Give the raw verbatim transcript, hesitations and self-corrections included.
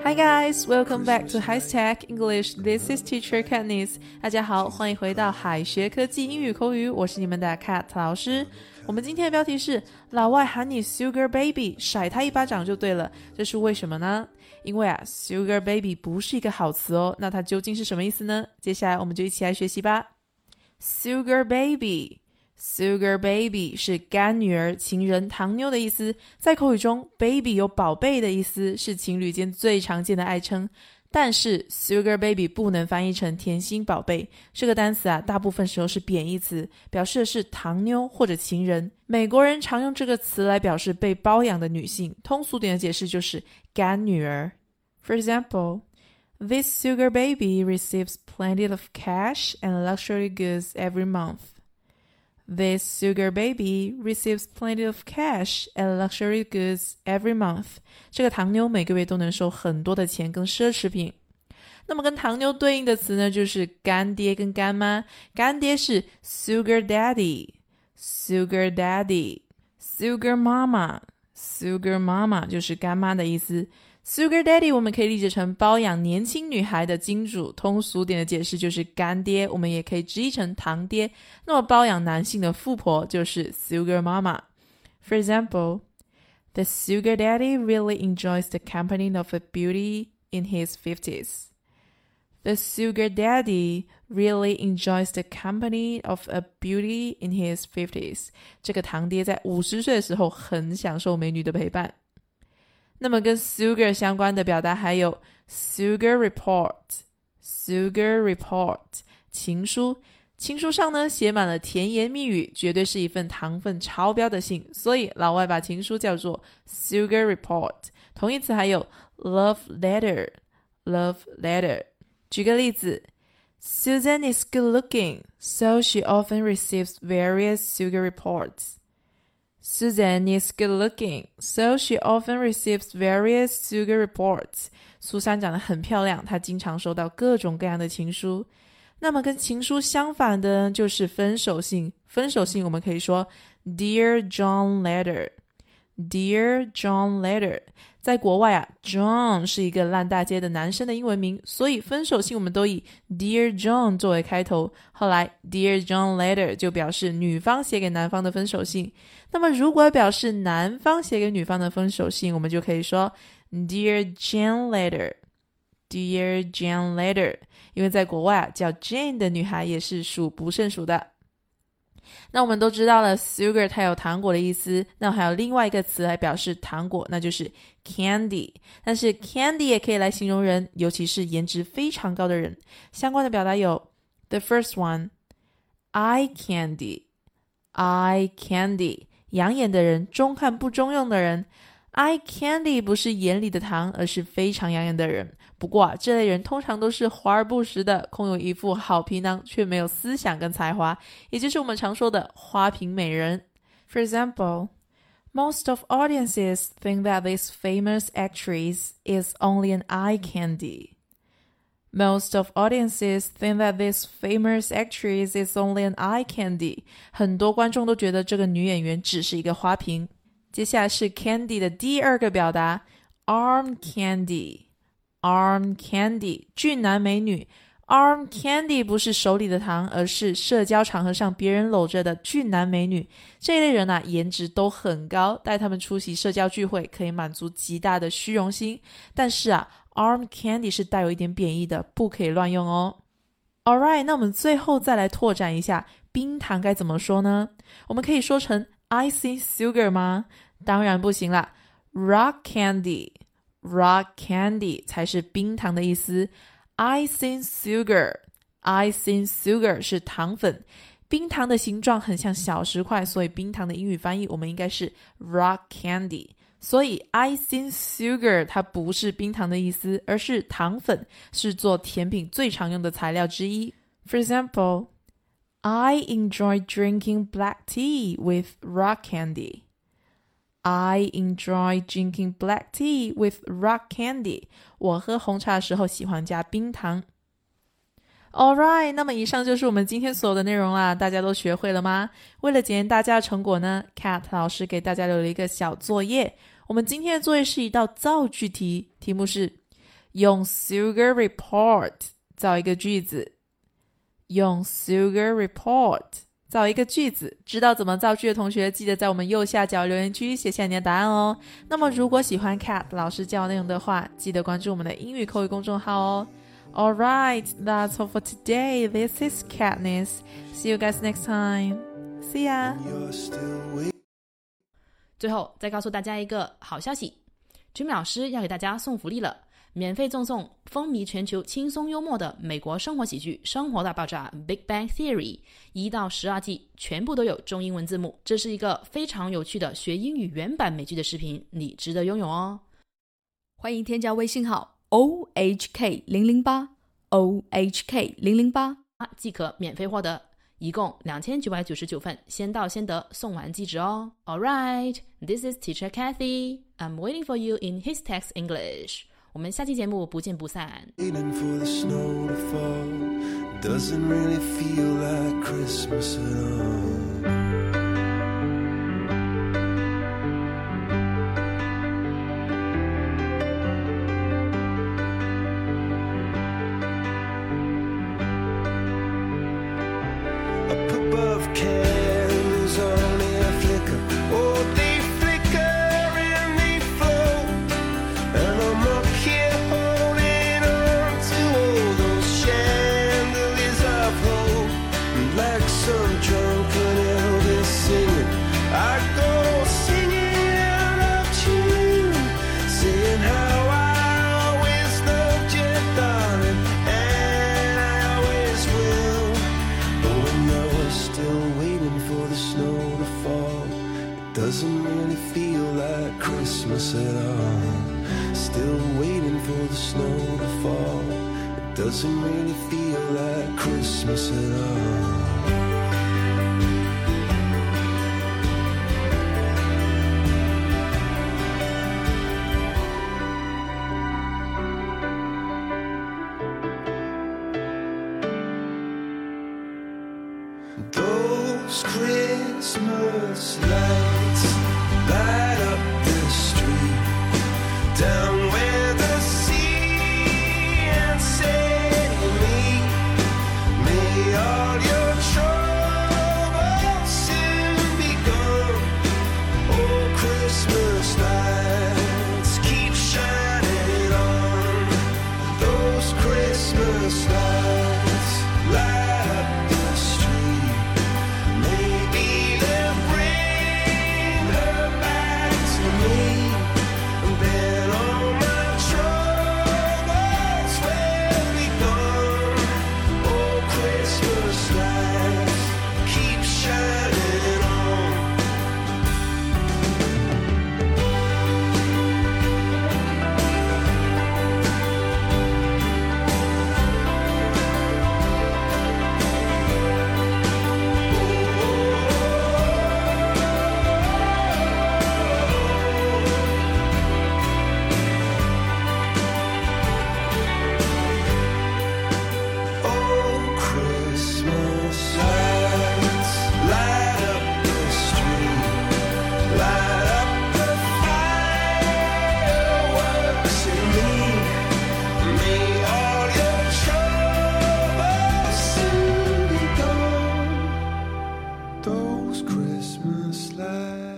Hi guys, welcome back to High-Tech English. This is Teacher Katniss. 大家好，欢迎回到海学科技英语口语，我是你们的 Kat 老师。我们今天的标题是老外喊你 Sugar Baby， 甩他一巴掌就对了。这是为什么呢？因为啊 Sugar Baby 不是一个好词哦，那它究竟是什么意思呢？接下来我们就一起来学习吧。Sugar Baby Sugar Baby 是干女儿、情人、糖妞的意思，在口语中 baby 有宝贝的意思，是情侣间最常见的爱称。但是 Sugar Baby 不能翻译成甜心宝贝，这个单词啊，大部分时候是贬义词，表示的是糖妞或者情人。美国人常用这个词来表示被包养的女性，通俗点的解释就是干女儿。For example, this Sugar Baby receives plenty of cash and luxury goods every month.This sugar baby receives plenty of cash and luxury goods every month. 这个糖妞每个月都能收很多的钱跟奢侈品。那么跟糖妞对应的词呢，就是干爹跟干妈。干爹是 sugar daddy, sugar daddy, sugar mama, sugar mama 就是干妈的意思。Sugar Daddy 我们可以理解成包养年轻女孩的金主，通俗点的解释就是干爹，我们也可以直译成堂爹。那么包养男性的富婆就是 Sugar Mama. For example, the Sugar Daddy really enjoys the company of a beauty in his fifties. The Sugar Daddy really enjoys the company of a beauty in his fifties. 这个堂爹在五十岁的时候很享受美女的陪伴。那么跟 sugar 相关的表达还有 sugar report, sugar report 情书。情书上呢写满了甜言蜜语，绝对是一份糖分超标的信，所以老外把情书叫做 sugar report。 同义词还有 love letter, love letter。 举个例子， Susan is good looking, so she often receives various sugar reports.Susan is good looking, so she often receives various sugar reports. 苏珊长得很漂亮，她经常收到各种各样的情书。那么跟情书相反的就是分手信。分手信我们可以说 Dear John Letter, Dear John Letter。 在国外啊 John 是一个烂大街的男生的英文名，所以分手信我们都以 Dear John 作为开头。后来 Dear John Letter 就表示女方写给男方的分手信。那么如果表示男方写给女方的分手信，我们就可以说 Dear Jane Letter, Dear Jane Letter。 因为在国外啊，叫 Jane 的女孩也是数不胜数的。那我们都知道了 sugar 它有糖果的意思，那还有另外一个词来表示糖果，那就是 candy。 但是 candy 也可以来形容人，尤其是颜值非常高的人。相关的表达有 The first one, eye candy, eye candy 养眼的人，中看不中用的人。 eye candy 不是眼里的糖，而是非常养眼的人。不过啊，这类人通常都是华而不实的，空有一副好皮囊，却没有思想跟才华，也就是我们常说的花瓶美人。 For example, most of audiences think that this famous actress is only an eye candy. Most of audiences think that this famous actress is only an eye candy. 很多观众都觉得这个女演员只是一个花瓶。接下来是 candy 的第二个表达 arm candy, arm candy 俊男美女。 arm candy 不是手里的糖，而是社交场合上别人搂着的俊男美女。这一类人啊，颜值都很高，带他们出席社交聚会可以满足极大的虚荣心。但是啊 arm candy 是带有一点贬义的，不可以乱用哦。 Alright, 那我们最后再来拓展一下冰糖该怎么说呢？我们可以说成icing sugar 吗？当然不行啦， rock candy, rock candy 才是冰糖的意思。 icing sugar, icing sugar 是糖粉。冰糖的形状很像小石块，所以冰糖的英语翻译我们应该是 rock candy。 所以 icing sugar 它不是冰糖的意思，而是糖粉，是做甜品最常用的材料之一。 For example, I enjoy drinking black tea with rock candy. I enjoy drinking black tea with rock candy. 我喝红茶的时候喜欢加冰糖。 Alright, 那么以上就是我们今天所有的内容啦，大家都学会了吗？为了检验大家的成果呢， Kat 老师给大家留了一个小作业。我们今天的作业是一道造句题，题目是用 Sugar Report 造一个句子，用 Sugar Report 造一个句子。知道怎么造句的同学，记得在我们右下角留言区写下你的答案哦。那么如果喜欢 Kat 老师教内容的话，记得关注我们的英语口语公众号哦。Alright, that's all for today. This is Katniss. See you guys next time. See ya. 最后再告诉大家一个好消息， Jimmy 老师要给大家送福利了，免费赠送风靡全球轻松幽默的美国生活喜剧《生活大爆炸》 Big Bang Theory 一到十二季全部都有中英文字幕，这是一个非常有趣的学英语原版美剧的视频，你值得拥有哦。 欢迎添加微信号 O H K 零零八 O H K 零零八即可免费获得，一共两千九百九十九份，先到先得，送完即止哦。Alright, this is Teacher Kathy. I'm waiting for you in His Text English. 我们下期节目不见不散。 Waiting for the snow to fall doesn't really feel like Christmas at all. Up above candles only a flicker. Oh, they flicker and they float. And I'm up here holding on to all those chandeliers of hope. And like some drunken Elvis singing, I go singing out of tune, saying how I always loved you, darling, and I always will. But when you're still waiting for the snow to fall, it doesn't really feel like Christmas at all. Still waiting for the snow to fall, it doesn't really feel like Christmas at all. Those Christmas lights light up the street down where the sea and sailing meet. May all your troubles soon be gone. Oh, Christmas lights keep shining on. Those Christmas lights light up the street. Maybe they'll bring her back to me. Then all my troubles will be gone. Oh, Christmas lights keep shining on. Oh, Christmas lights light up the street, light up the fireworks in me. May all your troubles soon be gone. Those Christmas lights